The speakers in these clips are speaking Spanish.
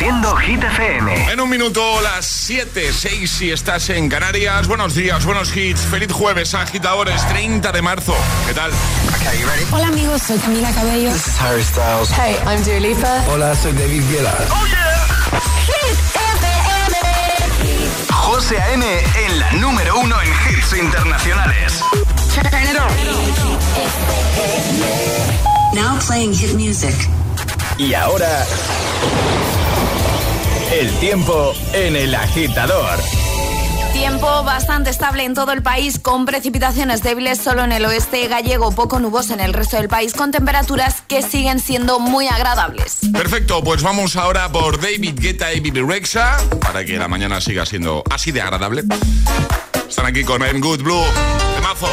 Produciendo Hit FM. En un minuto, las 7:06 si estás en Canarias. Buenos días, buenos hits. Feliz jueves, agitadores, 30 de marzo. ¿Qué tal? Okay, you ready? Hola amigos, soy Camila Cabello. This is Harry Styles. Hey, I'm Dua Lipa. Hola, soy David Guetta. ¡Oh, yeah! Hit FM. José A.M. en la número 1 en hits internacionales. Turn it on. Now playing hit music. Y ahora, el tiempo en El Agitador. Tiempo bastante estable en todo el país, con precipitaciones débiles solo en el oeste gallego, poco nuboso en el resto del país, con temperaturas que siguen siendo muy agradables. Perfecto, pues vamos ahora por David Guetta y Bibi Rexha, para que la mañana siga siendo así de agradable. Están aquí con I'm Good Blue, temazo.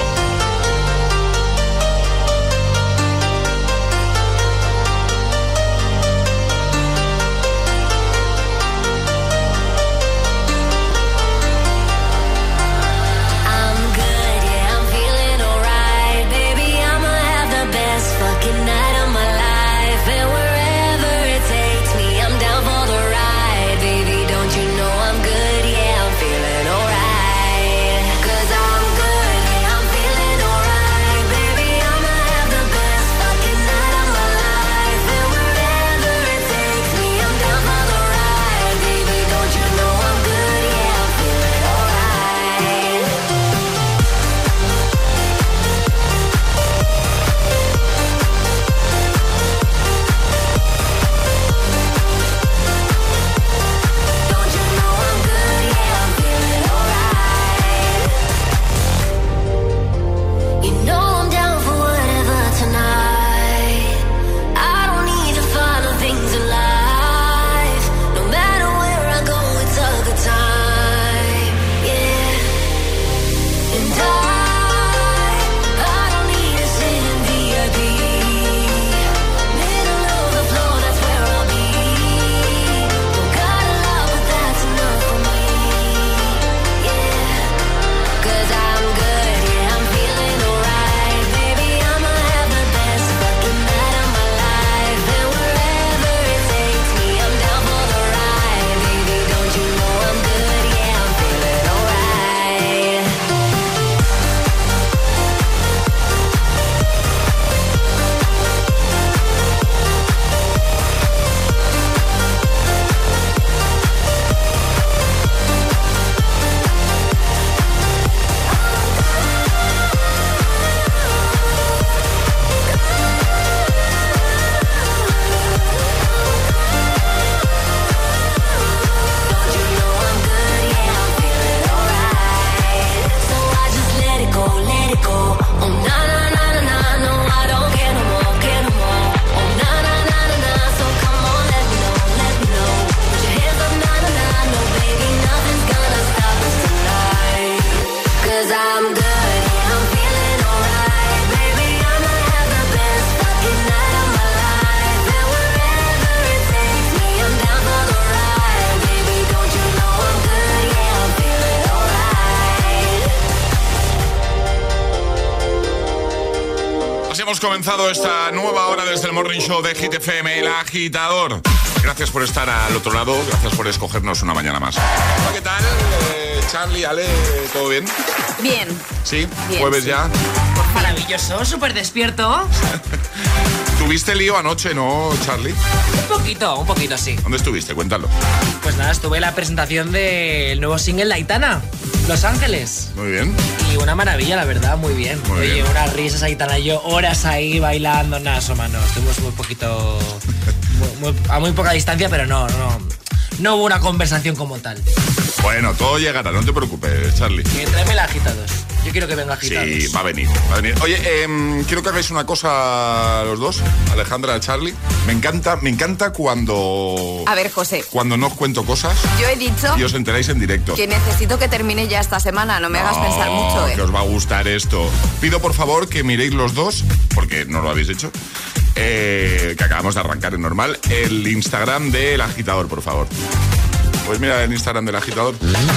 Hemos comenzado esta nueva hora desde el Morning Show de Hit FM, El Agitador. Gracias por estar al otro lado, gracias por escogernos una mañana más. Hola, ¿qué tal? Charlie, Ale, ¿todo bien? Bien. ¿Sí? Bien, ¿Jueves sí. ya? Maravilloso, súper despierto. ¿Tuviste lío anoche, no, Charlie? Un poquito, sí. ¿Dónde estuviste? Cuéntalo. Pues nada, estuve en la presentación del nuevo single de Aitana, Los Ángeles. Muy bien. Y una maravilla, la verdad, muy bien. Muy Oye, bien. unas risas Aitana y yo, horas ahí bailando, nada, mano. Estuvimos muy poquito, a muy poca distancia, pero no hubo una conversación como tal. Bueno, todo llegará, no te preocupes, Charlie. Tráeme la agitados. Yo quiero que venga agitados. Sí, va a venir. Oye, quiero que hagáis una cosa los dos, Alejandra, Charlie. Me encanta cuando... A ver, José. Cuando no os cuento cosas Yo he dicho y os enteráis en directo. que necesito que termine ya esta semana, no me hagas pensar mucho, que os va a gustar esto. Pido por favor que miréis los dos, porque no lo habéis hecho, que acabamos de arrancar en normal, el Instagram del Agitador, por favor. Pues mira el Instagram del Agitador.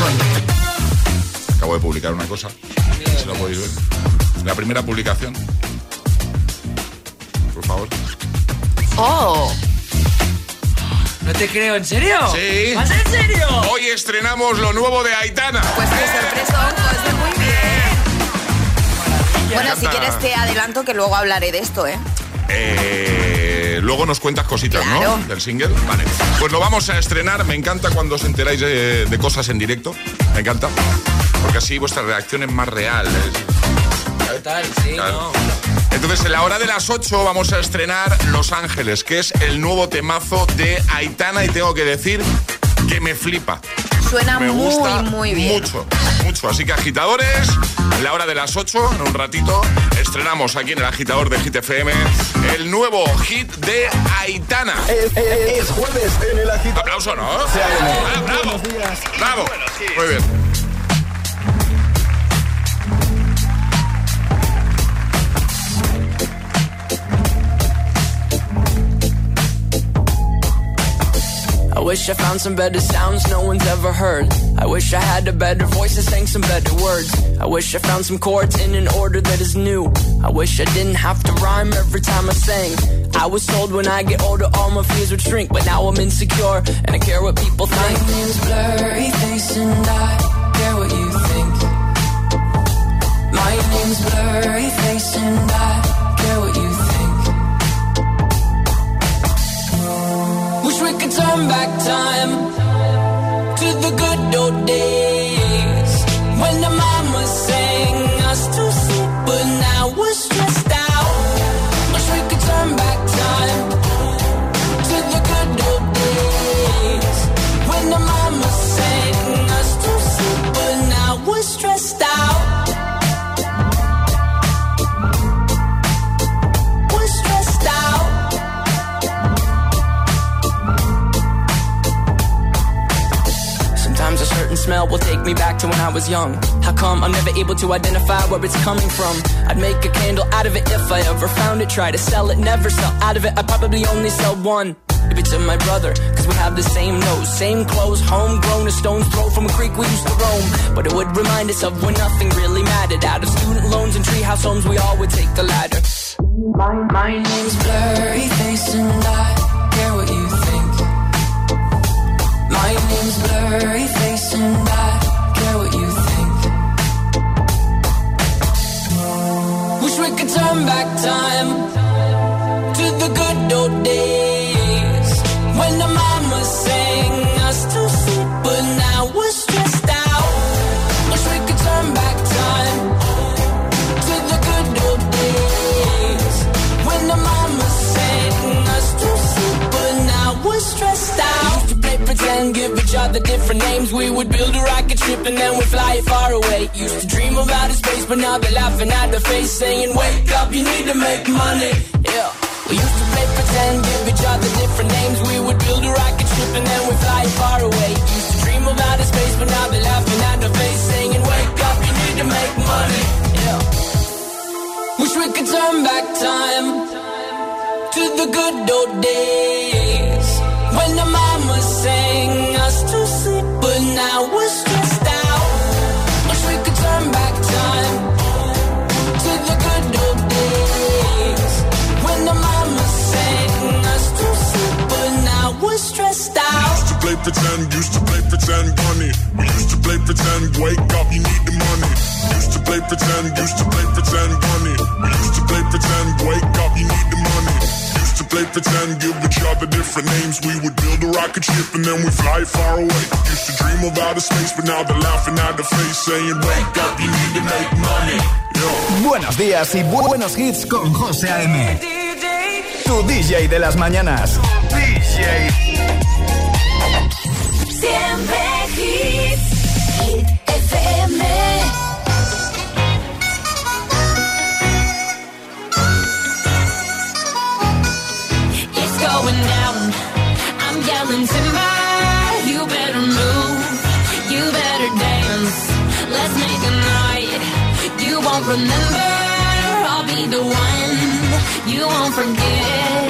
Acabo de publicar una cosa, si lo podéis ver. La primera publicación, por favor. ¡Oh! No te te creo, ¿en serio? Sí. ¿Vas en serio? Hoy estrenamos lo nuevo de Aitana. Pues qué sorpresa, pues muy bien. Bueno, si quieres te adelanto que luego hablaré de esto, Luego nos cuentas cositas, claro, ¿no? Del single. Vale. Pues lo vamos a estrenar. Me encanta cuando os enteráis de cosas en directo. Me encanta. Porque así vuestra reacción es más real. Total, sí, claro. no. Entonces, en la hora de las 8 vamos a estrenar Los Ángeles, que es el nuevo temazo de Aitana. Y tengo que decir que me flipa. Suena me gusta muy bien. Mucho, mucho. Así que, agitadores, en la hora de las 8, en un ratito, estrenamos aquí en el agitador de Hit FM el nuevo hit de Aitana. Es jueves en el agitador. Aplauso, ¿no? Sí, bravo. Buenos días. Bravo. Bueno, sí. Muy bien. I wish I found some better sounds no one's ever heard. I wish I had a better voice that sang some better words. I wish I found some chords in an order that is new. I wish I didn't have to rhyme every time I sang. I was told when I get older all my fears would shrink, but now I'm insecure and I care what people think. My name's Blurry Face and I care what you think. My name's Blurry Face and I care what you think. Wish we could turn back time to the good old days when the mama sang us to sleep, but now we're stressed out. Wish we could turn back time to the good old days when the mama sang us to sleep, but now we're stressed out. We're stressed out. Sometimes a certain smell will take me back to when I was young. How come I'm never able to identify where it's coming from? I'd make a candle out of it if I ever found it. Try to sell it, never sell out of it. I'd probably only sell one. Maybe to my brother, cause we have the same nose, same clothes, homegrown, a stone's throw from a creek we used to roam. But it would remind us of when nothing really mattered. Out of student loans and treehouse homes, we all would take the ladder. My name's Blurry Face and I care what you think. My name's Blurry Face and I care what you think. Wish we could turn back time to the good old days when the mama sang us to sleep, but now we're stressed out. Wish we could turn back time to the good old days when the mama sang us to sleep, but now we're stressed out. Used to play pretend, give each other different names. We would build a rocket ship and then we'd fly far away. Used to dream of outer space, but now they're laughing at the face, saying, wake up, you need to make money. Yeah. We used to play pretend, give each other different names. We would build a rocket ship and then we'd fly far away. Used to dream of outer space, but now they're laughing at the face, saying, wake up, you need to make money. Yeah. Wish we could turn back time to the good old days when the mama sang us to sleep, but now we're stressed out. Wish we could turn back time to the good old days when the mama sang us to sleep, but now we're stressed out. Used to play pretend, bunny. We used to play pretend, wake up, you need the money. Used to play pretend, bunny. We used to play pretend, wake up, you need the money. Used to play pretend, give each other different names. We would build a rocket ship and then we fly far away. Used to dream of outer space, but now they're laughing at the face, saying, wake up, you need to make money. Yo. Buenos días y buenos hits con José A.M. Tu DJ de las mañanas. DJ. Siempre hits. Hit FM. It's going down. I'm yelling timber. You better move. You better dance. Let's make a night you won't remember. I'll be the one you won't forget.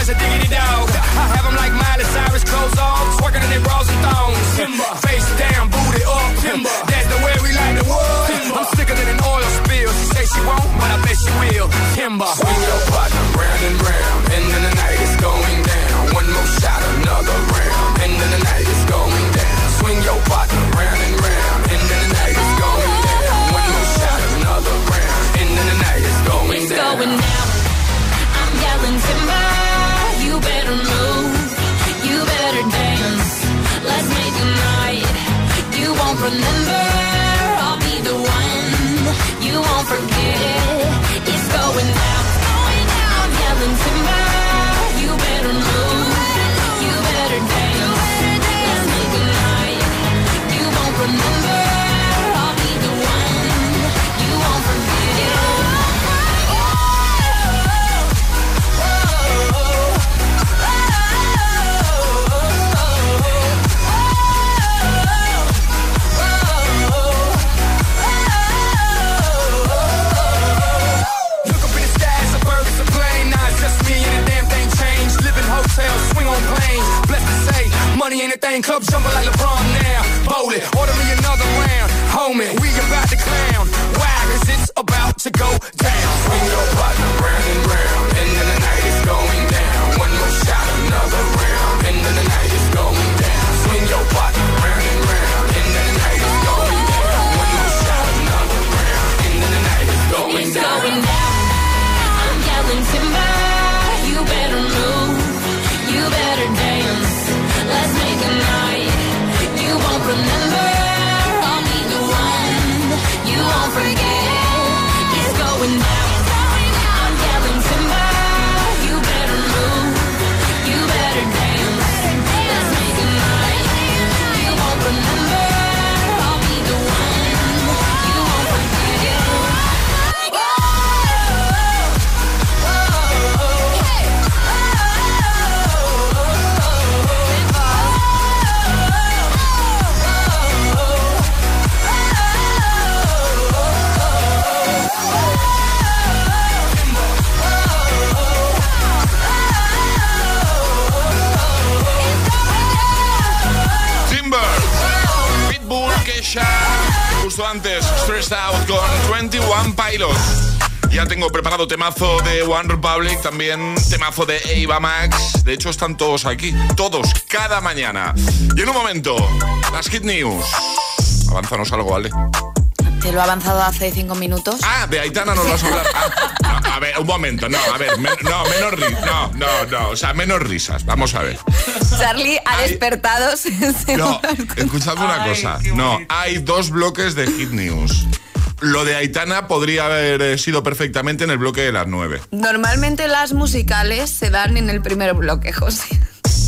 a diggity dog. I have them like Miley Cyrus, clothes off, twerking in their bras and thongs. Timber. Face down, booty up. Timber. That's the way we like the world. I'm sicker than an oil spill. She say she won't, but I bet she will. Timber. Swing your partner round and round, and then the night is going down. One more shot, another round, and then the night is going down. Swing your partner round and round, and then the night is going down. One more shot, another round, and then the night is going down. It's going down. I'm yelling timber. You better move. You better dance. Let's make a night. You won't remember. I'll be the one. You won't forget. It's going down. I'm yelling timber. You better move. You better dance. Let's make a night. You won't remember. I'll be the one. You won't forget. Swing on planes, blessed to say, money ain't a thing. Club jumping like LeBron now. Bowl it, order me another round. Homie, we about to clown. Why? 'Cause it's about to go down. Swing your partner round and round, and then the night is going down. One more shot, another round, and then the night is going down. Swing your partner round and round, and then the night is going down. One more shot, another round, and then the night is going down. It's going down. I'm yelling timber. You better move. You better dance. Let's make a night. You won't remember. I'll be the one. You won't forget. It's going down. I'm yelling timber. You better move. You better dance. Let's make a night. You won't remember. I'll be the one. You won't forget. Justo antes, Stressed Out con 21 Pilots. Ya tengo preparado temazo de One Republic, también temazo de Ava Max. De hecho, están todos aquí, todos, cada mañana. Y en un momento, las Hit News. Avánzanos algo, Ale. Te lo he avanzado hace 5 minutos. Ah, de Aitana nos vas a hablar. No, a ver, un momento, no, a ver, menos risas. No, o sea, menos risas. Vamos a ver. Charlie ha despertado. No, escuchadme una cosa. No, hay 2 bloques de Hit News. Lo de Aitana podría haber sido perfectamente en el bloque de las 9. Normalmente las musicales se dan en el primer bloque, José.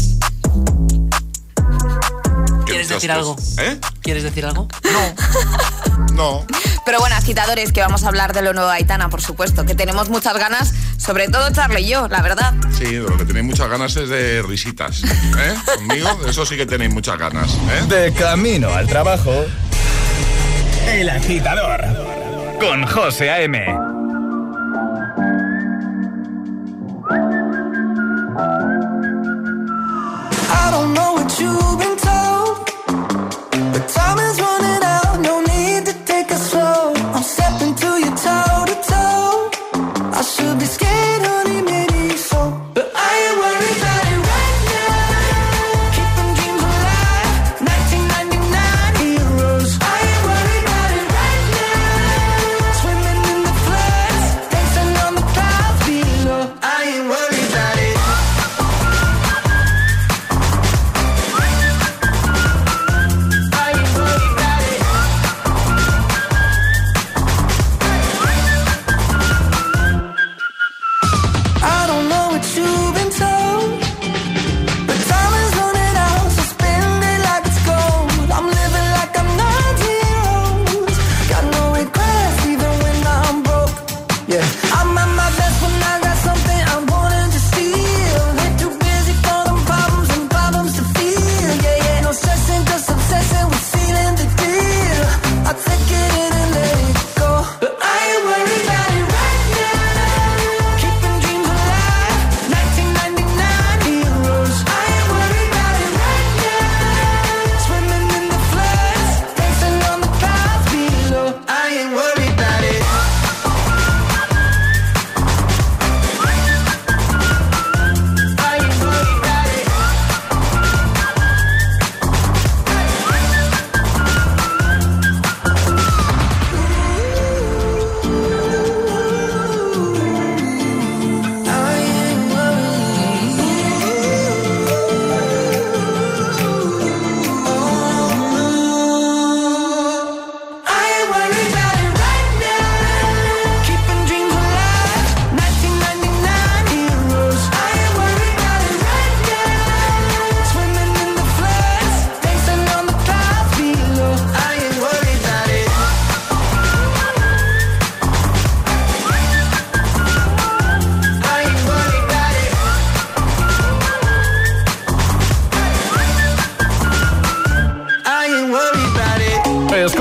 ¿Quieres decir algo? ¿Eh? ¿Quieres decir algo? No. Pero bueno, agitadores, que vamos a hablar de lo nuevo de Aitana, por supuesto, que tenemos muchas ganas, sobre todo Charlie y yo, la verdad. Sí, de lo que tenéis muchas ganas es de risitas. ¿Eh? Conmigo, de eso sí que tenéis muchas ganas. ¿Eh? De camino al trabajo, El Agitador, con José A.M. I don't know what you've been told, but time is running out, no need to take it slow. I'm stepping to you toe to toe. I should be scared, honey, maybe so, but I ain't worried about it right now. Keeping dreams alive, 1999 heroes. I ain't worried about it right now. Swimming in the flood.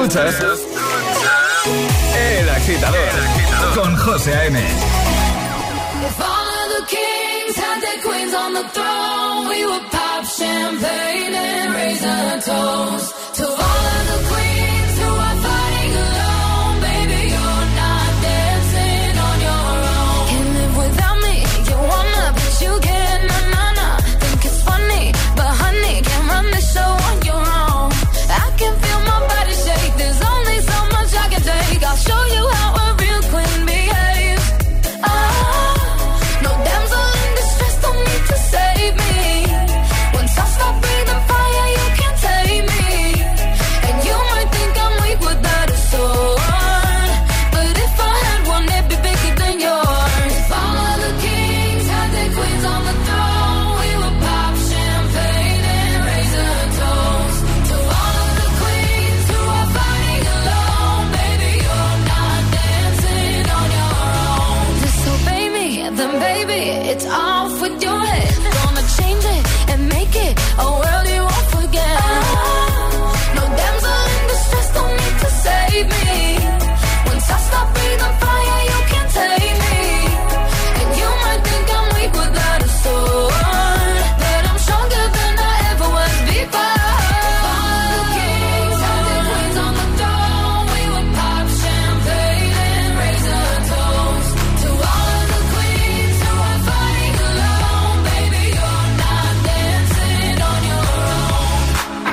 Escuchas El Agitador con José A.M. If all of the kings had their queens on the throne, we would pop champagne and raise a toast to all of the queens who are fighting alone. Baby, you're not dancing on your own. Can't live without me, you wanna, but you can't, na-na-na. Think it's funny, but honey, can't run the show on your own. I can feel my body shake, there's only so much I can take. I'll show you how a real queen behaves. No damsel in distress, don't need to save me. Once I stop breathing fire, you can't take me. And you might think I'm weak without a sword, but if I had one, it'd be bigger than yours. If all of the kings had their queens on the throne, we would pop champagne and raise a toast to all of the queens who are fighting alone. Baby, you're not dancing on your own. Disobey me, then baby, it's off with your head. Gonna change it and make it a world you won't forget. No damsel in distress, don't need to save me. Once I stop breathing fire, you can't take me. And you might think I'm weak without a sword, but I'm stronger than I ever was before. All the kings had their queens on the throne. We would pop champagne and raise a toast to all of the queens who are fighting alone. Baby, you're not dancing on your own.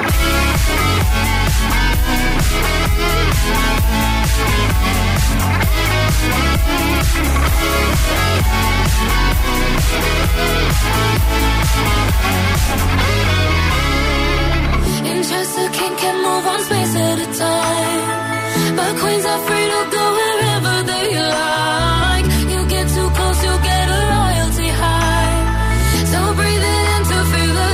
Interest, a king can move on space at a time, but queens are free to go wherever they like. You get too close, you'll get a royalty high. So breathe it in to feel the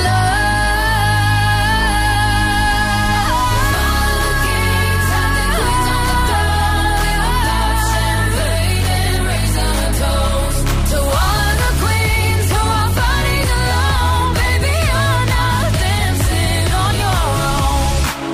light. All the kings have their queens on the throne. We will pop champagne and raise a toast to all the queens who are fighting alone. Baby, you're not dancing on your own.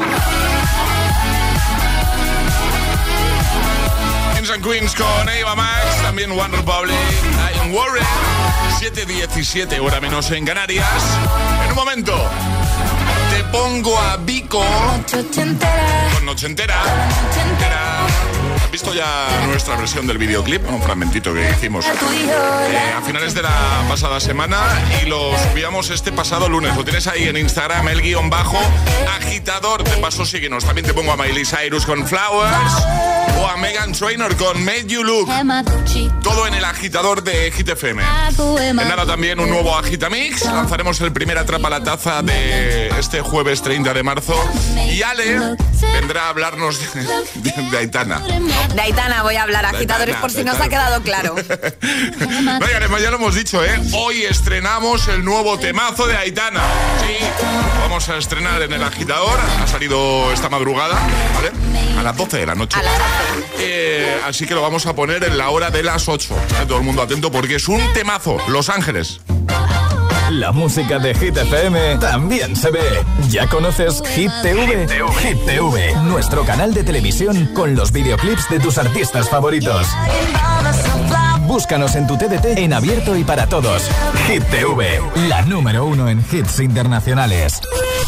Kings and Queens con Eva Max, también One Republic, I'm Worried. 7:17, hora menos en Canarias. En un momento te pongo a Vico con Noche Entera. ¿Has visto ya nuestra versión del videoclip? Un fragmentito que hicimos a finales de la pasada semana y lo subíamos este pasado lunes. Lo tienes ahí en Instagram, _agitador. De paso síguenos. También te pongo a Miley Cyrus con Flowers o a Meghan Trainor con Made You Look. Todo en el agitador de Hit FM. En nada también un nuevo Agitamix. Lanzaremos el primer Atrapa la Taza de este jueves 30 de marzo. Y Ale vendrá a hablarnos de Aitana. De Aitana voy a hablar, agitadores, por si no os ha quedado claro. Oigan, ya lo hemos dicho, ¿eh? Hoy estrenamos el nuevo temazo de Aitana. Sí, vamos a estrenar en el agitador. Ha salido esta madrugada, ¿vale? A las 12 de la noche. Así que lo vamos a poner en la hora de las 8. Todo el mundo atento porque es un temazo. Los Ángeles. La música de Hit FM también se ve. ¿Ya conoces Hit TV? Hit TV, nuestro canal de televisión con los videoclips de tus artistas favoritos. Búscanos en tu TDT en abierto y para todos. Hit TV, la número 1 en hits internacionales.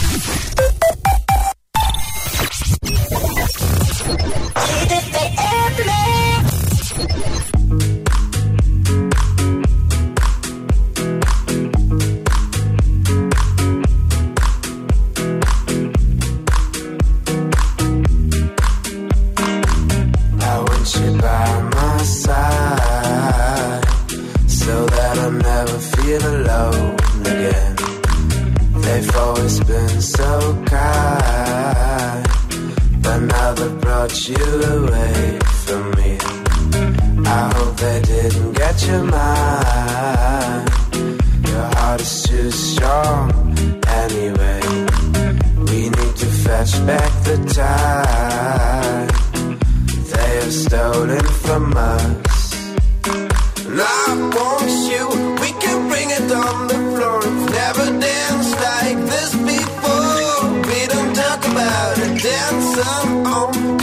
You away from me. I hope they didn't get your mind. Your heart is too strong anyway. We need to fetch back the time they have stolen from us. And I promise you we can bring it on the floor. We've never danced like this before. We don't talk about it, dance on.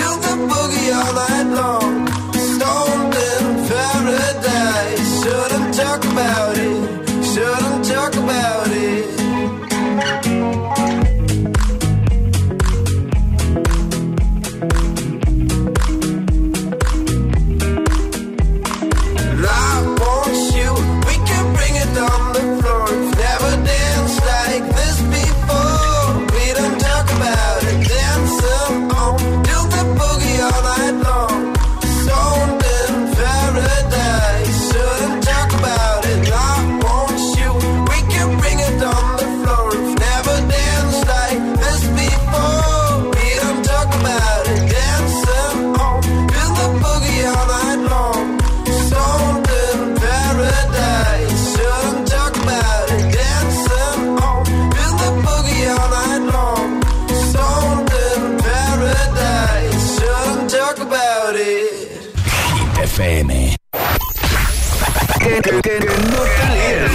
FM. Que no te líes.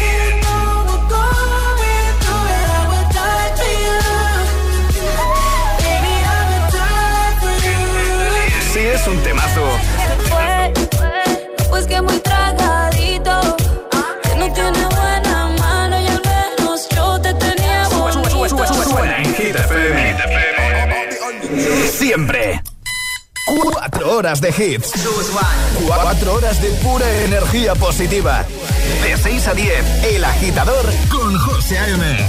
Sí, es un temazo. Pues que muy tragadito, que no tiene buena mano y al menos yo te tenía bonito. Suena en Hit FM. Siempre. 4 horas de hits. 4 horas de pura energía positiva. De 6 a 10, El Agitador con José A.M.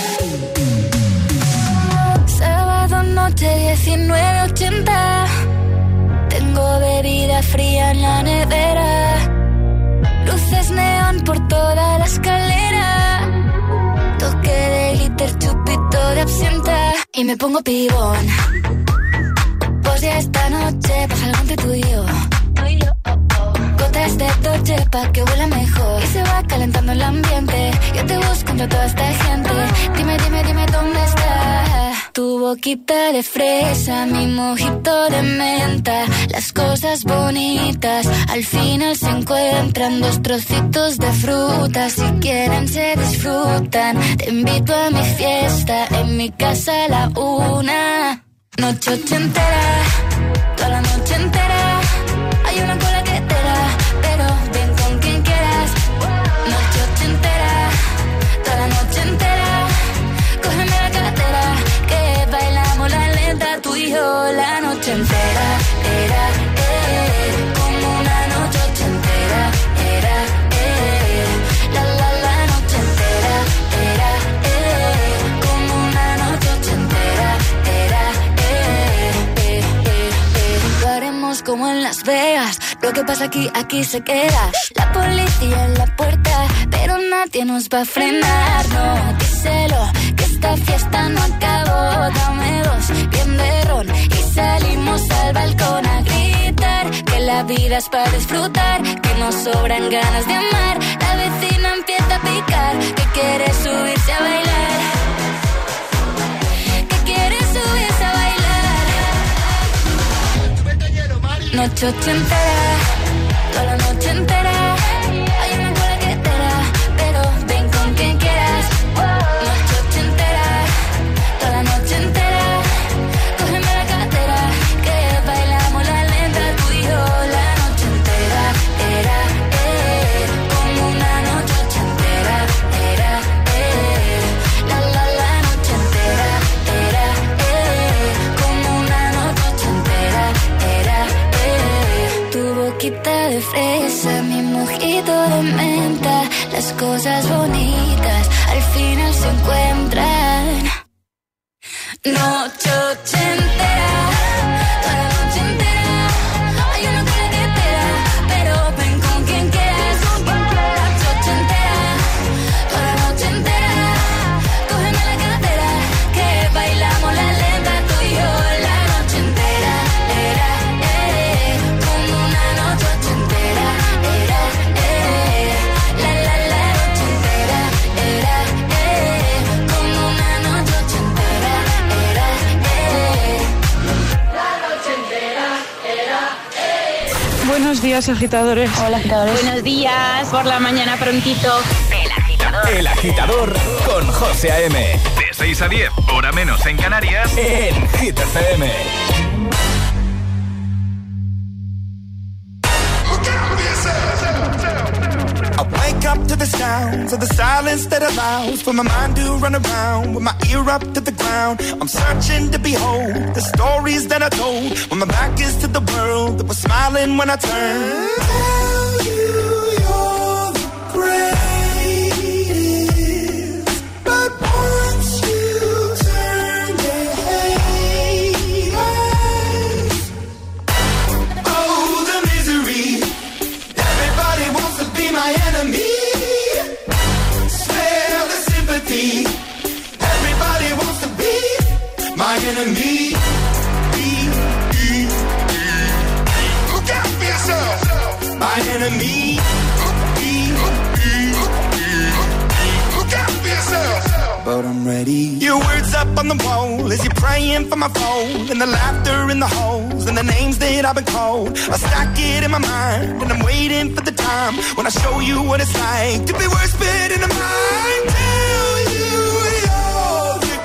Sábado noche 19:80. Tengo bebida fría en la nevera. Luces neón por toda la escalera. Toque de glitter, chupito de absenta. Y me pongo pibón. Pues ya esta noche pasa algo entre tú y yo. Gotas de Dolce pa' que huela mejor. Y se va calentando el ambiente. Yo te busco entre toda esta gente. Dime dónde está tu boquita de fresa, mi mojito de menta. Las cosas bonitas al final se encuentran. 2 trocitos de fruta, si quieren se disfrutan. Te invito a mi fiesta, en mi casa a la 1. Noche ochentera, toda la noche entera. Hay una cola que te da, pero ven con quien quieras. Noche ochentera, toda la noche entera. Cógeme la cartera, que bailamos la lenta. Tú y yo la noche entera. Era, como una noche ochentera. Era, la noche entera. Era, como una noche ochentera. Era, lo haremos como en Las Vegas. Lo que pasa aquí se queda. La policía en la puerta, pero nadie nos va a frenar. No, díselo, que esta fiesta no acabó. Dame 2, bien de ron, y salimos al balcón a gritar. Que la vida es para disfrutar, que nos sobran ganas de amar. La vecina empieza a picar, que quiere subirse a bailar. Que quiere subirse a bailar. Noche ochentera, toda la noche entera. Hay una cola que te da, pero ven con quien quieras. Noche ochentera, toda la noche entera. Cógeme la cartera, que bailamos la lenta. Tú y yo la noche entera. Era, como una noche ochentera. Era, la noche entera. Era, como una noche ochentera. Era, tu boquita de fresa, mi mojito de menta. Las cosas bonitas al final se encuentran. Noche ochentera, toda la noche entera. Hay una cola que te da, pero ven con quien quieras. Noche ochentera, toda la noche entera. Cógeme la cartera, que bailamos la lenta. Tú y yo la noche entera. Era, como una noche ochentera. Era, la noche entera. Era, como una noche ochentera. Era, la noche entera. Era, Buenos días, agitadores. Hola, agitadores. Buenos días, por la mañana prontito. El Agitador con José A.M. De 6 a 10, hora menos en Canarias, en Hit FM. I wake up to the sounds of the silence that allows for my mind to run around with my ear up to the ground. I'm searching to behold the stories that I told when my back is to the world that was smiling when I turned. Tell you you're the greatest, but once you turn the haters, oh, the misery. Everybody wants to be my enemy. Spare the sympathy. Everybody wants to be my enemy. Look out for yourself. My enemy. Look out for yourself. but I'm ready. Your words up on the wall as you're praying for my phone, and the laughter in the halls and the names that I've been called. I stack it in my mind and I'm waiting for the time when I show you what it's like to be worse fit in the mind. Tell you you're the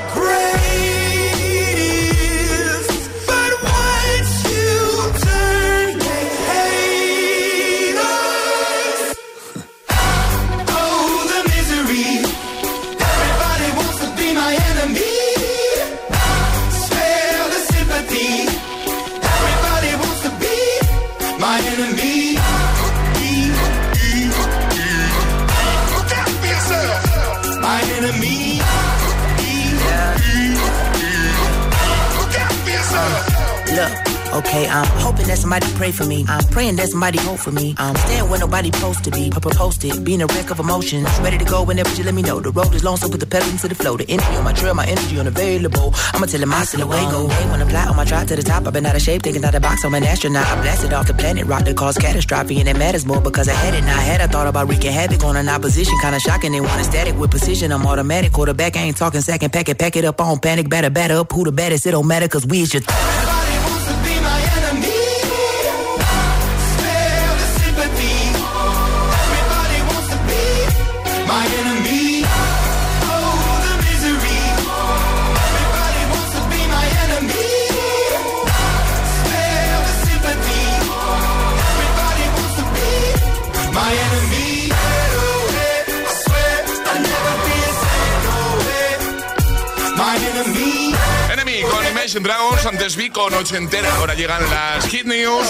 greatest, but once you turn they hate us. Oh, the misery. Everybody wants to be my enemy. Spare the sympathy. Everybody wants to be my enemy. My enemy. Look, okay, I'm hoping that somebody pray for me. I'm praying that somebody hope for me. I'm staying where nobody supposed to be. Posted, being a wreck of emotions. Ready to go whenever you let me know. The road is long, so put the pedal into the flow. The energy on my trail, my energy unavailable. I'ma tell him I still away go. Hey, when I fly on my drive to the top, I've been out of shape, thinking out the box. I'm an astronaut. I blasted off the planet, rock that caused catastrophe, and it matters more because I had it. Now I had, I thought about wreaking havoc on an opposition, kinda shocking. They want a static with precision. I'm automatic, quarterback. I ain't talking second, pack it up on panic, batter up. Who the baddest? It don't matter, cause we is your. My enemy, oh the misery. Everybody wants to be my enemy. Spare the sympathy. Everybody wants to be my enemy. I swear I'll never be a my enemy. Enemy con Imagine Dragons, antes vi con Ochentera, ahora llegan las Hit News.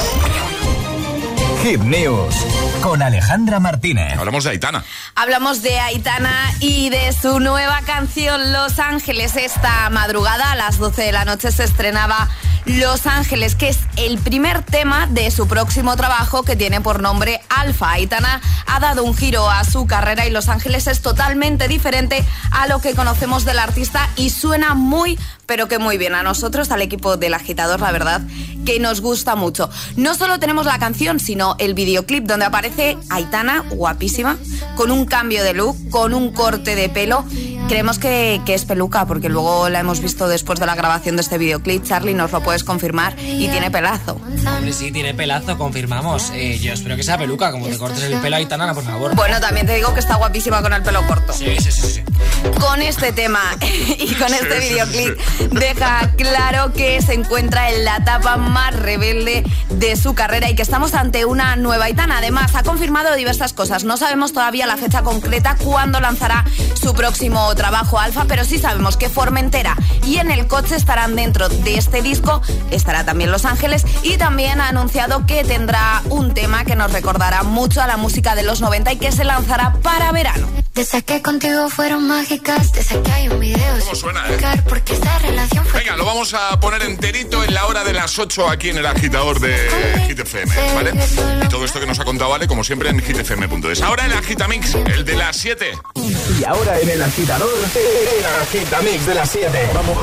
Hit News con Alejandra Martínez. Hablamos de Aitana. Hablamos de Aitana y de su nueva canción Los Ángeles. Esta madrugada a las 12 de la noche se estrenaba Los Ángeles, que es el primer tema de su próximo trabajo que tiene por nombre Alfa. Aitana ha dado un giro a su carrera y Los Ángeles es totalmente diferente a lo que conocemos del artista y suena muy, pero que muy bien. A nosotros, al equipo del Agitador, la verdad que nos gusta mucho. No solo tenemos la canción, sino el videoclip donde aparece Aitana, guapísima, con un cambio de look, con un corte de pelo. Creemos que es peluca, porque luego la hemos visto después de la grabación de este videoclip. Charlie, nos lo puedes confirmar, y tiene pelazo. Hombre, sí, tiene pelazo, confirmamos. Yo espero que sea peluca, como te cortes el pelo a Aitana, por favor. Bueno, también te digo que está guapísima con el pelo corto. Sí. Con este tema y con este videoclip deja claro que se encuentra en la etapa más rebelde de su carrera y que estamos ante una nueva Aitana. Además, ha confirmado diversas cosas. No sabemos todavía la fecha concreta cuándo lanzará su próximo trabajo Alfa, pero sí sabemos que Formentera y En el coche estarán dentro de este disco. Estará también Los Ángeles y también ha anunciado que tendrá un tema que nos recordará mucho a la música de los 90 y que se lanzará para verano. Desde que contigo fueron mágicas, desde que hay un video. ¿Cómo suena, Porque esta relación fue... Venga, lo vamos a poner enterito en la hora de las 8 aquí en el Agitador de Hit FM, ¿vale? Y todo esto que nos ha contado, ¿vale? Como siempre en hitfm.es. Ahora el Agitamix, el de las 7. Y ahora en el Agitador, el Agitamix de las 7. Vamos.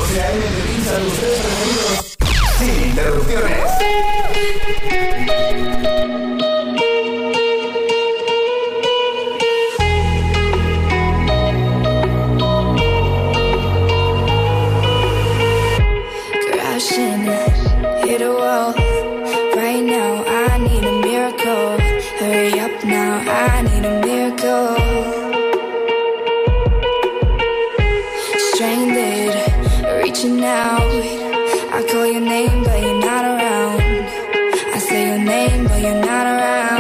Sin interrupciones. Hit a wall. Right now, I need a miracle. Hurry up now, I need a miracle. Stranded, reaching out. I call your name, but you're not around. I say your name, but you're not around.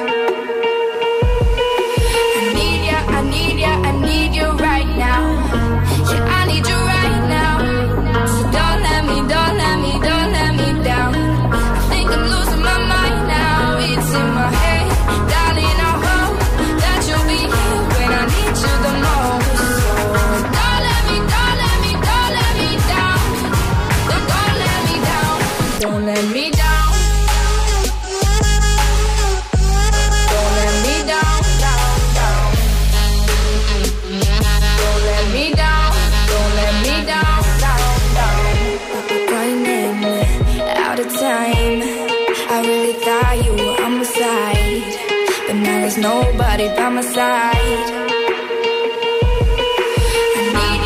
I need ya, I need ya, I need you right now. Yeah, I need you right now. So don't let me down. I think I'm losing my mind now. It's in my head, darling. I hope that you'll be here when I need you the most. So don't let me down. Don't let me down. Don't let me down. Don't let me down, down. Don't let me down. Don't let me down, down. Running out of time. I really thought you were on my side, but now there's nobody by my side. I need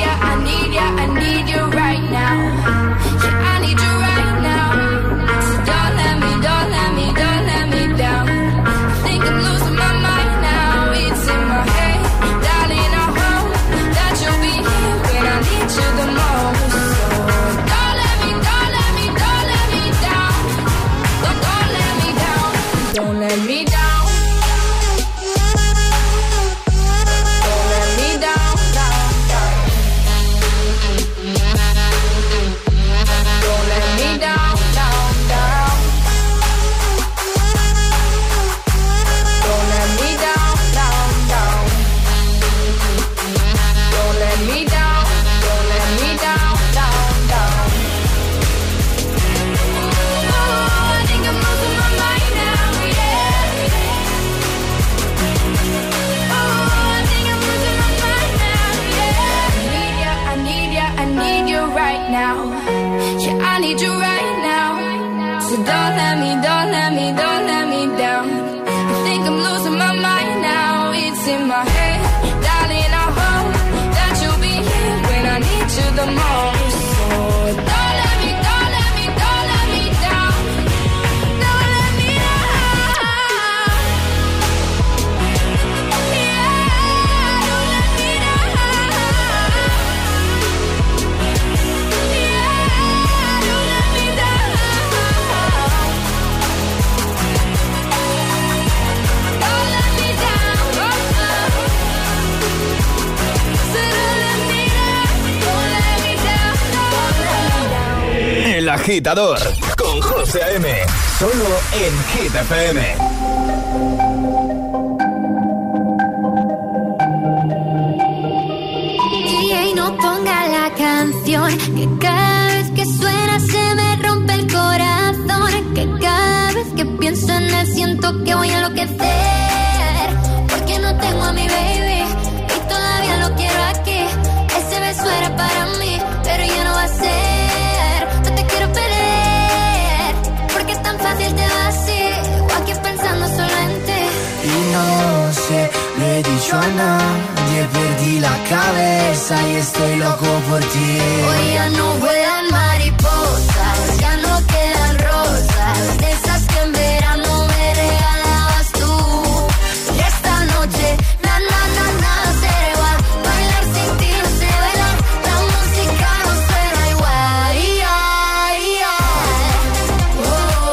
now. Yeah, I need you right now. So don't let me, don't let me, don't let me down. I think I'm losing my mind now. It's in my head, darling, I hope that you'll be here when I need you the most. So don't let me, don't let me, don't let me down. Don't let me down. Yeah, don't let me down. Yeah, don't let me down. Don't let me down. So don't let me down. Don't let me down. Don't let me down. El Agitador con José A.M. Solo en Hit FM. DJ, no ponga la canción, que cada vez que suena se me rompe el corazón, que cada vez que pienso en él siento que voy a enloquecer, porque no tengo a mi baby y todavía lo quiero aquí. Ese beso era para mí, pero ya no va a ser. No te quiero perder, porque es tan fácil te vas o aquí pensando solo en ti. Y no sé, le he dicho a nadie, perdí la cabeza y estoy loco por ti. Hoy ya no vuelan mariposas, ya no quedan rosas, de esas que en verano me regalabas tú. Y esta noche, na na na nada será igual, bailar sin ti no sé bailar, la música no suena igual. Ay, ay, oh,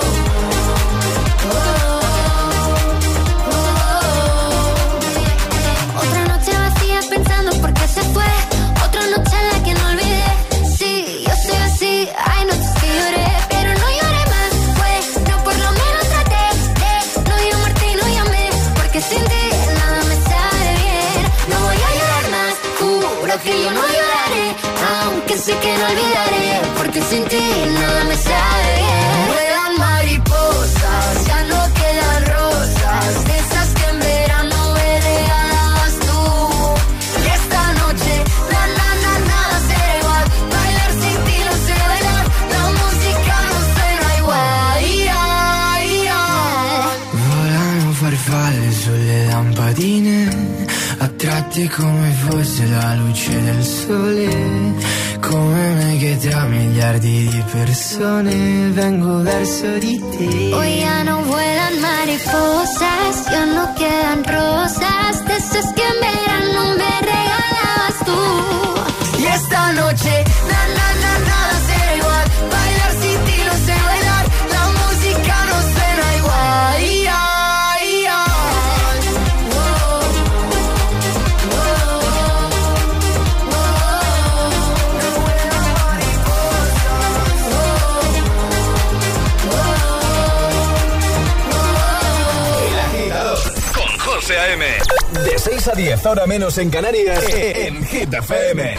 oh. Otra noche vacía pensando por qué se fue, otra noche en la que no olvidé. Sí, yo soy así, hay noches que lloré, pero no lloré más, pues yo por lo menos traté de no llamarte y no llamé, porque sin ti nada me sabe bien. No voy a llorar más, juro que yo no lloraré, aunque sé que no olvidaré, porque sin ti nada me sabe bien. Vuelan mariposas, ya no quedan rosas, de esas que en verano me regalabas tú. Y esta noche, na na na nada será igual, bailar sin ti no sé bailar, la música no suena igual. Ay, ay. Volano farfalle sulle lampadine, attratti come fosse la luce del sole, come me che tra miliardi di persone vengo verso di te. Hoy ya no vuelan mariposas, ya no quedan rosas, de esas que en verano me regalabas tú. Y esta noche, na na na nada será igual, bailar sin ti no sé bailar, la música no suena igual. Ay, ay, ay. Oh, oh, oh, El Agitador con José A.M. De 6 a 10, hora menos en Canarias, en Hit FM.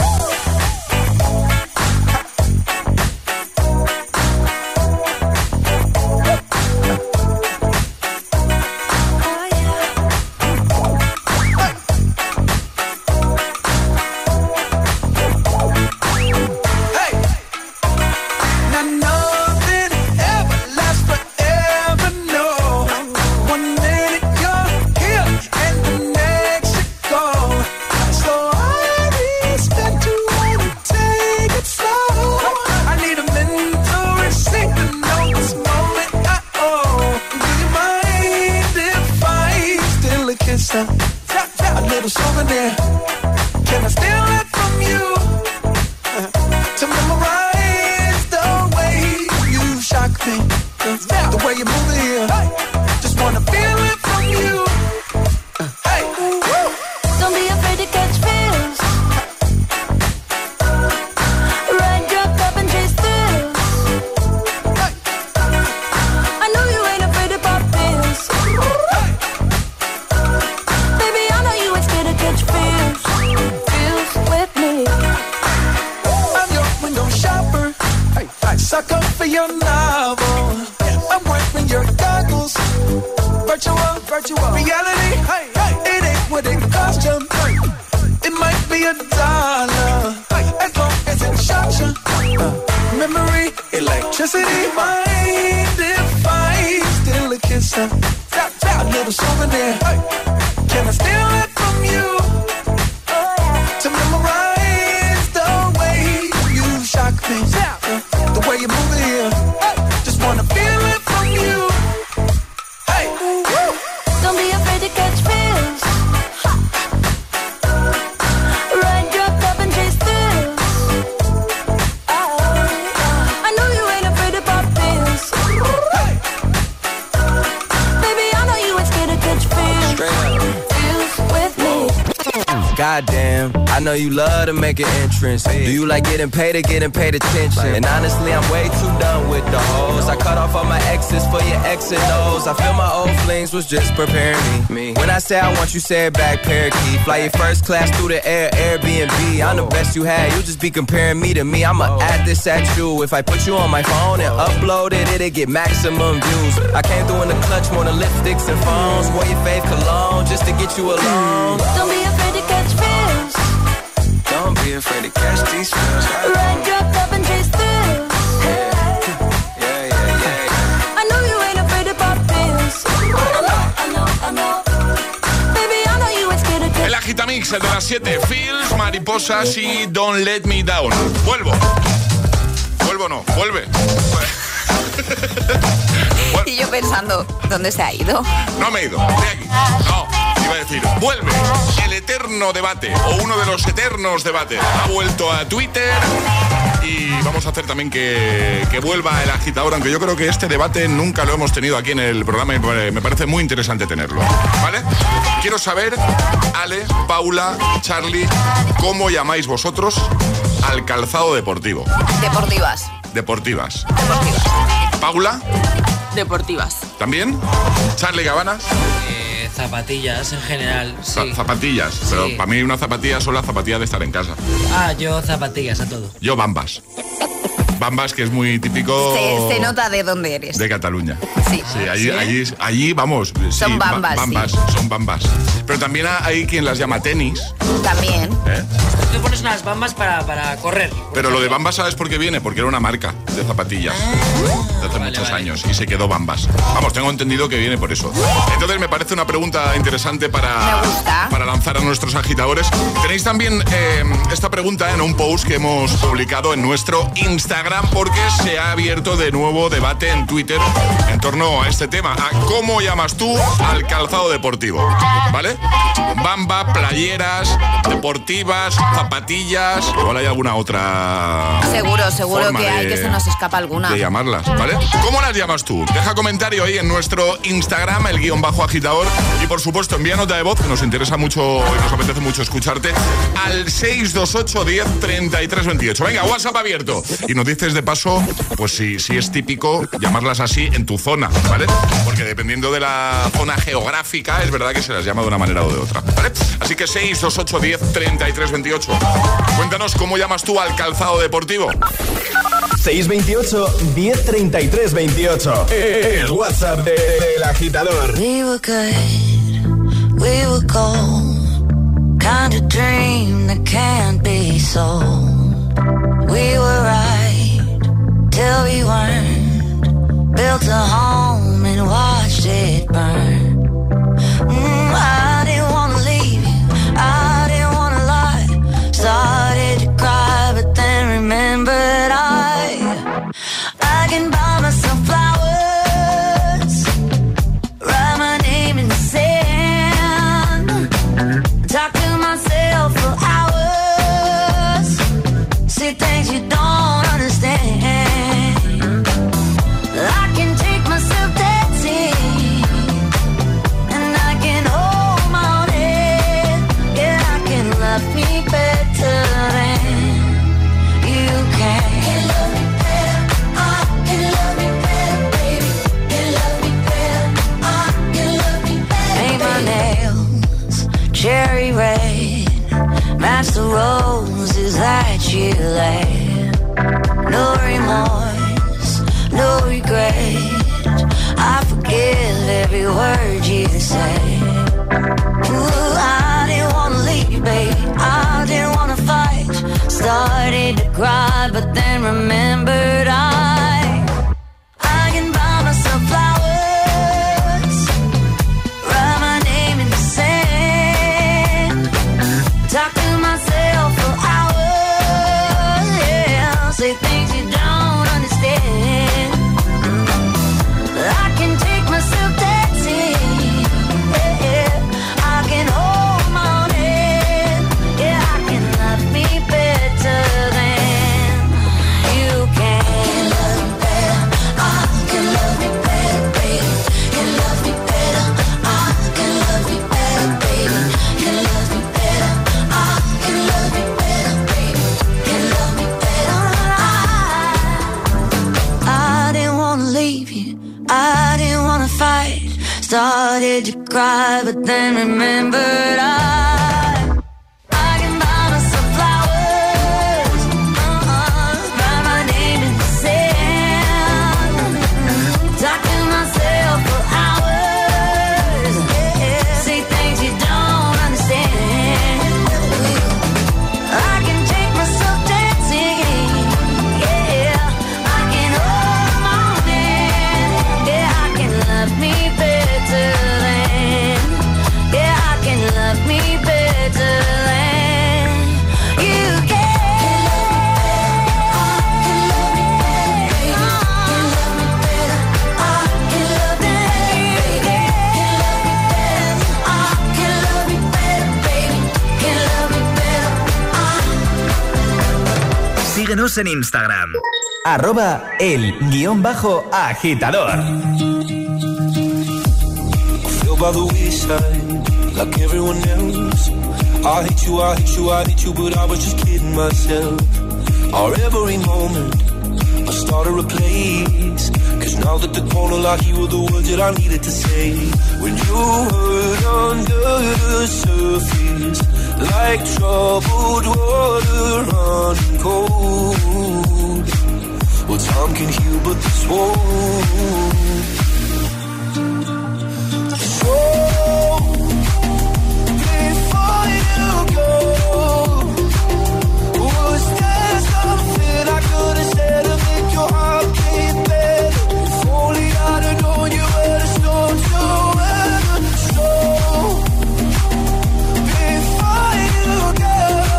Now nothing ever lasts forever, no. 1 minute you're here and the next you're gone. So I respect you and take it slow. I need a mentor and sing to know this moment I own. Do you mind if I steal a kiss? A little souvenir. Can I steal it from you? To memorize the way you shock me, the way you move it here. Just wanna feel it from you. Hey, don't be afraid to catch feels. Ride your cup and chase thrills. I know you ain't afraid to pop pills. Baby, I know you ain't scared to catch feels. Feels with me. I'm your window shopper. Hey, I suck up for your novel. I'm wearing your goggles. Virtual reality. Hey, it ain't what it cost you. It might be $1, as long as it shocks you. Just it ain't mind if I steal a kiss. A little souvenir. Can I steal it from you? To memorize the way you shock me. The way you move it here. Just wanna feel it from you. Hey. Don't be afraid to catch feels. Ride dropped up and chase thrills. I know you ain't afraid to pop pills. Baby, I know you ain't scared to catch feels. Feels with me. Goddamn, I know you love to make an entrance. Do you like getting paid or getting paid attention? And honestly, I'm way too done with the hoes. I cut off all my exes for your X and O's. I feel my old flings was just preparing me. When I say I want you, say it back, parakeet. Fly your first class through the air, Airbnb. I'm the best you had, you just be comparing me to me. I'ma add this at you. If I put you on my phone and upload it, it'll get maximum views. I came through in the clutch, more than lipsticks and phones. Wore your fave cologne just to get you alone. Don't be afraid to catch feels. Don't be afraid to catch these feels. Ride dropped up and chase thrills. I know you ain't afraid to pop pills. I know. Baby, I know you ain't scared to catch. El Agitamix, el de las 7. Feels, Mariposas y Don't Let Me Down. Vuelvo no, vuelve. Y yo pensando, ¿dónde se ha ido? No me he ido, estoy aquí. No, iba a decir, vuelve el eterno debate, o uno de los eternos debates. Ha vuelto a Twitter y vamos a hacer también que vuelva el agitador, aunque yo creo que este debate nunca lo hemos tenido aquí en el programa y me parece muy interesante tenerlo, ¿vale? Quiero saber, Ale, Paula, Charlie, ¿cómo llamáis vosotros al calzado deportivo? Deportivas. Paula. Deportivas. ¿También? Charlie Cabanas. Zapatillas en general, sí. Zapatillas, Sí. pero para mí una zapatilla son las zapatillas de estar en casa. Yo zapatillas a todo. Yo Bambas. Bambas, que es muy típico... Se nota de dónde eres. De Cataluña. Sí. Allí vamos. Son bambas, son bambas. Pero también hay quien las llama tenis. También. Te pones unas bambas para correr. Pero lo de Bambas, ¿sabes por qué viene? Porque era una marca de zapatillas de hace muchos años y se quedó Bambas. Vamos, tengo entendido que viene por eso. Entonces me parece una pregunta interesante para lanzar a nuestros agitadores. Tenéis también esta pregunta en un post que hemos publicado en nuestro Instagram, porque se ha abierto de nuevo debate en Twitter en torno a este tema, a cómo llamas tú al calzado deportivo, ¿vale? Bamba, playeras, deportivas, zapatillas, igual hay alguna otra Seguro que hay, que se nos escapa alguna de llamarlas, ¿vale? ¿Cómo las llamas tú? Deja comentario ahí en nuestro Instagram, el _agitador, y por supuesto envía nota de voz, que nos interesa mucho y nos apetece mucho escucharte, al 628 10 33 28. Venga, WhatsApp abierto. Y nos dices de paso, pues si es típico llamarlas así en tu zona, ¿vale? Porque dependiendo de la zona geográfica, es verdad que se las llama de una manera o de otra, ¿vale? Así que 628 10 33 28. Cuéntanos cómo llamas tú al calzado deportivo. 628 1033 28. El WhatsApp del agitador. We were good, we were gold. Kind of dream that can't be sold. We were right till we weren't. Built a home and watched it burn. I didn't wanna leave you, I didn't wanna lie. Started to cry, but then remembered I can buy myself flowers, write my name in the sand, talk to myself for hours, see things you don't understand. I can take myself dancing, and I can hold my own head. Yeah, I can love me better than you can. Cherry red, match the roses that you laid. No remorse, no regret. I forgive every word you say. Ooh, I didn't wanna leave, babe. I didn't wanna fight. Started to cry, but then remembered I cry, but then remembered I can buy myself flowers, write my name in the sand, talk to myself for hours, say things you don't understand. I can take myself dancing, I can hold my own hand, I can love me better than, I can love me better than you can. Síguenos en Instagram. @el_agitador. Feel by the wayside, like everyone else. I hate you, I hate you, I hate you, but I was just kidding myself. Our every moment, I started a place. Cause now that the corner like you were the words that I needed to say. When you hurt under the surface, like troubled water running cold. Well, time can heal, but this won't. So, before you go, was there something I could have said to make your heart beat better? If only I'd have known you were the storm to weather. So, before you go,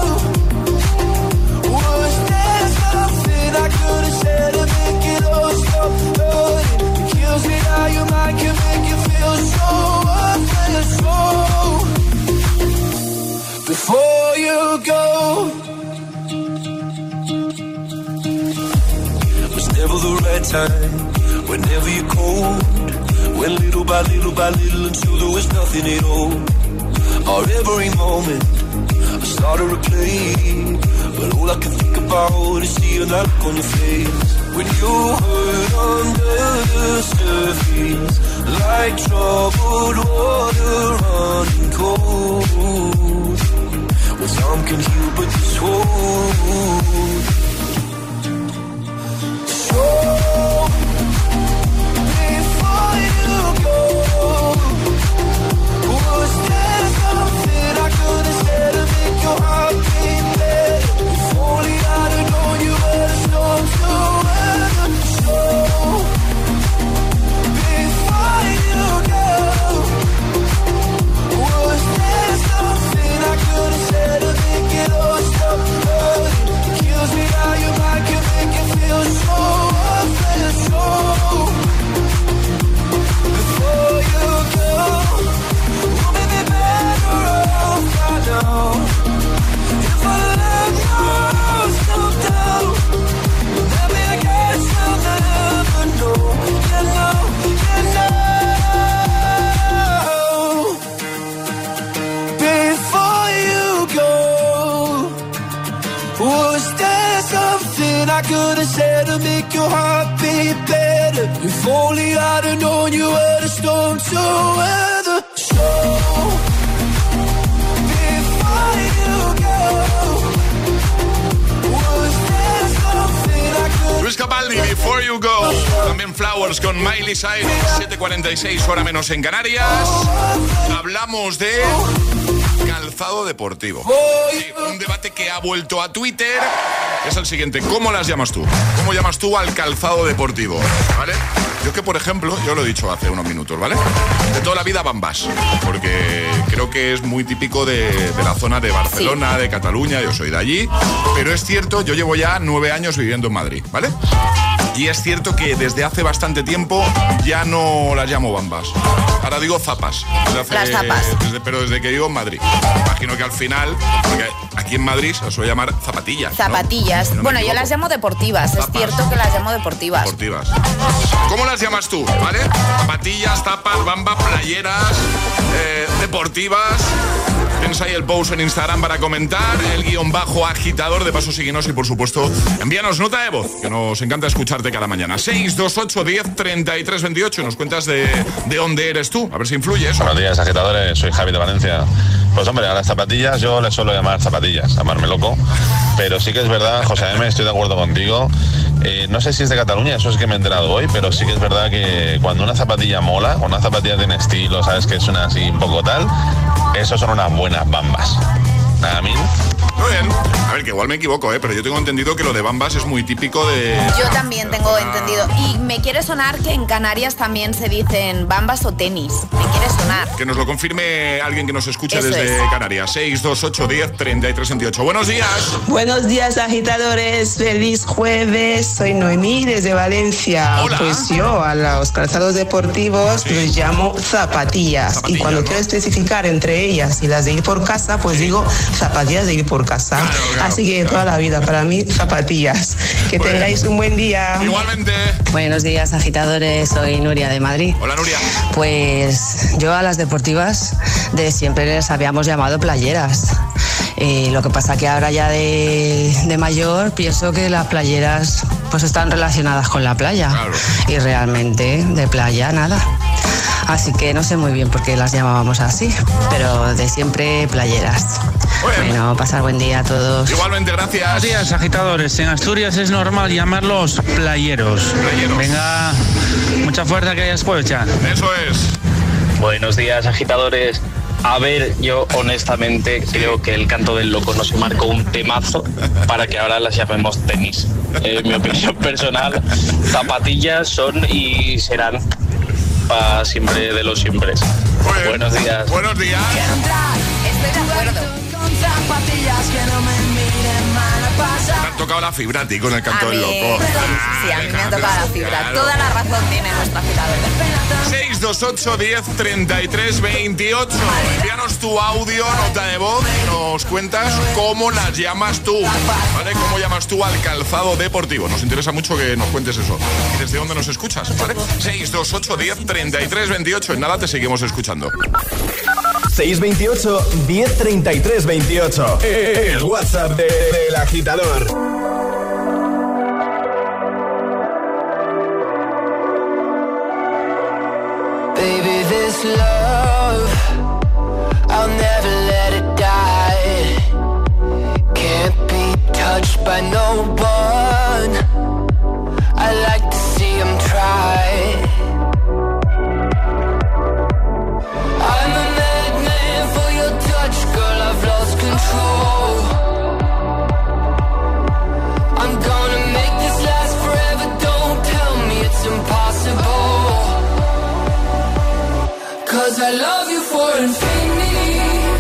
was there something I could have said to make it all stop hurting? It kills me how your mind can make you feel so worthless. So, before you go, was never the right time, whenever you're cold, went little by little by little until there was nothing at all. Our every moment, I started to play, but all I can think about is seeing that look on your face. When you hurt under the surface, like troubled water running cold. Well, some can heal, but this won't. So, before you go, was there something I could have said to make your heart beat better? If only I'd have known you were the storm to weather. So, before you go, was there something I could have said to make it all stop hurting? It kills me how your mind can make you feel so worthless. So, before you go, we'll be better off right now. If I let yourself down, maybe I guess I'll never know. You know, you know. Before you go, was there something I could have said to make your heart beat better? If only I'd have known you were the storm to weather. So, before you go, was there something I could... Luis Capaldi, Before You Go. También Flowers con Miley Cyrus. 7:46, hora menos en Canarias. Hablamos de calzado deportivo. Sí, un debate que ha vuelto a Twitter. Es el siguiente: ¿cómo las llamas tú? ¿Cómo llamas tú al calzado deportivo? ¿Vale? Yo que, por ejemplo, yo lo he dicho hace unos minutos, ¿vale? De toda la vida Bambas, porque creo que es muy típico de la zona de Barcelona, sí, de Cataluña, yo soy de allí, pero es cierto, yo llevo ya 9 años viviendo en Madrid, ¿vale? Y es cierto que desde hace bastante tiempo ya no las llamo Bambas. Ahora digo zapas. Las zapas. Pero desde que vivo en Madrid. Imagino que al final, porque aquí en Madrid se suele llamar zapatillas. Zapatillas. ¿No? Bueno, yo las llamo deportivas. Zapas. Es cierto que las llamo deportivas. Deportivas. ¿Cómo las llamas tú? ¿Vale? Zapatillas, zapas, bamba, playeras, deportivas. tienes ahí el post en Instagram para comentar, el _agitador. De paso, síguenos y, por supuesto, envíanos nota de voz, que nos encanta escucharte cada mañana. 628 10 33 28. Nos cuentas de dónde eres tú, a ver si influye eso. Buenos días, agitadores. Soy Javi de Valencia. Pues hombre, a las zapatillas yo les suelo llamar zapatillas, llamarme loco. Pero sí que es verdad, José M, estoy de acuerdo contigo. No sé si es de Cataluña, eso es que me he enterado hoy, pero sí que es verdad que cuando una zapatilla mola, cuando una zapatilla tiene estilo, sabes que suena así un poco tal, eso son unas buenas bambas. Nada, mil. Muy bien. A ver, que igual me equivoco, pero yo tengo entendido que lo de bambas es muy típico de... Yo también tengo entendido. Y me quiere sonar que en Canarias también se dicen bambas o tenis. Me quiere sonar. Que nos lo confirme alguien que nos escuche desde Canarias. 628 10 33 28. Buenos días. Buenos días, agitadores. Feliz jueves. Soy Noemí desde Valencia. Hola. Pues yo a los calzados deportivos les llamo zapatillas. Y cuando quiero especificar entre ellas y las de ir por casa, pues digo zapatillas de ir por casa. Claro. Así que toda la vida, para mí, zapatillas. Que tengáis un buen día. Igualmente. Buenos días, agitadores. Soy Nuria de Madrid. Hola, Nuria. Pues yo a las deportivas de siempre les habíamos llamado playeras. Lo que pasa que ahora ya de mayor pienso que las playeras pues están relacionadas con la playa. Claro. Y realmente de playa nada. Así que no sé muy bien por qué las llamábamos así, pero de siempre playeras. Bueno, pasar buen día a todos. Igualmente, gracias. Buenos días, agitadores. En Asturias es normal llamarlos playeros. Venga, mucha fuerza que hayas puesto. Eso es. Buenos días, agitadores. A ver, yo honestamente creo que el canto del loco nos marcó un temazo para que ahora las llamemos tenis. Mi opinión personal, zapatillas son y serán para siempre de los siempre. Buenos días. Buenos días. Estoy de acuerdo. Me han tocado la fibra a ti con el canto del loco. Sí, a mí me ha tocado la fibra. Claro. Toda la razón tiene nuestra agitadora. 628 10 33 28. Envíanos tu audio, nota de voz, y nos cuentas cómo las llamas tú, ¿vale? ¿Cómo llamas tú al calzado deportivo? Nos interesa mucho que nos cuentes eso. ¿Y desde dónde nos escuchas? ¿Vale? 628 10 33 28. En nada te seguimos escuchando. 628 1033 28. El WhatsApp del agitador. Baby, this love, I'll never let it die. Can't be touched by no one. I like to see him try. I'm a madman for your touch, girl, I've lost control. I'm gonna make this last forever, don't tell me it's impossible. 'Cause I love you for infinity.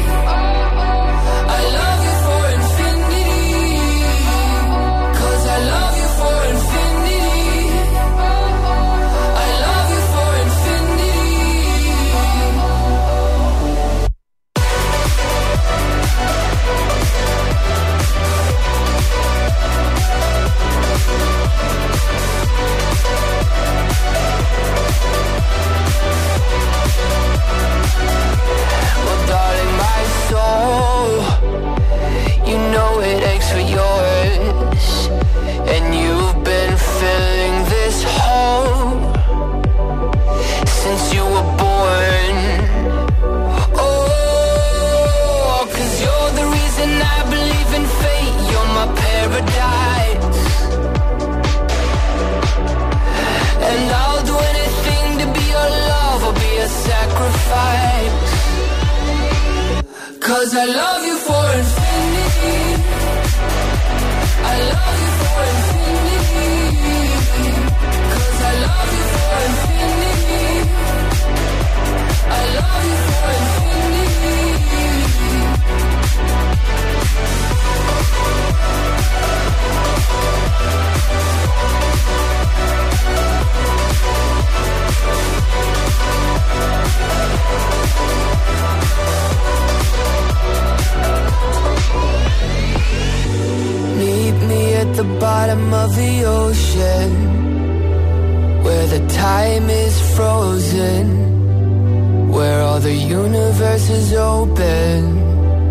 I love you for infinity. 'Cause I love you for infinity. I love you for infinity. Well, darling, my soul, you know it aches for yours, and you've been filling this hole since you were born. Oh, 'cause you're the reason I believe in fate, you're my paradise, and I'll do anything to be your love or be a sacrifice. 'Cause I love you for infinity. I love you for infinity. 'Cause I love you for infinity. I love you for infinity. Meet me at the bottom of the ocean, where the time is frozen, where all the universe is open.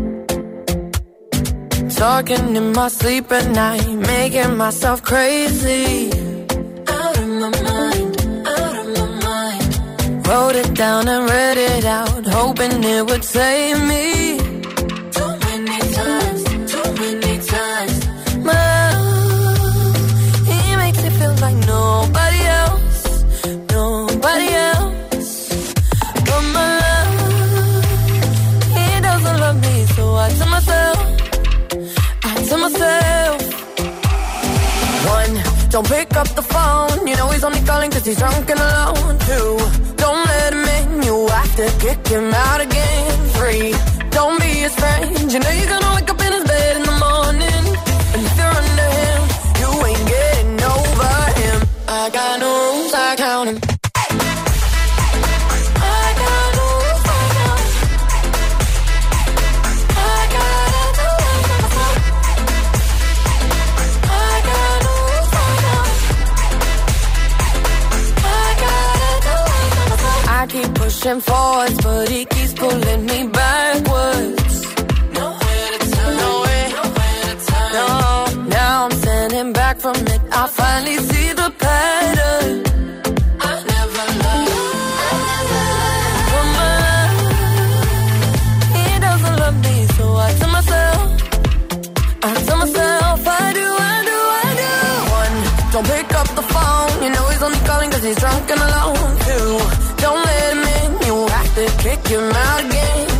Talking in my sleep at night, making myself crazy. Out of my mind, out of my mind. Wrote it down and read it out, hoping it would save me. Too many times, too many times. My love, he makes it feel like nobody else, nobody else. But my love, he doesn't love me, so I tell myself, one, don't pick up the phone. You know he's only calling cause he's drunk and alone. Two, don't let him in. You have to kick him out again. Three, don't be his friend. You know you're gonna wake up in his bed in the morning. And if you're under him, you ain't getting over him. I got no rules, I count him. I keep pushing forwards, but he keeps pulling me backwards. Nowhere to turn, nowhere to turn. No, now I'm standing back from it. I finally see the pattern. I never loved. But my love, he doesn't love me, so I tell myself, I do. One, don't pick up the phone. You know he's only calling cause he's drunk and alone. Two, don't let him in, you have to kick him out again.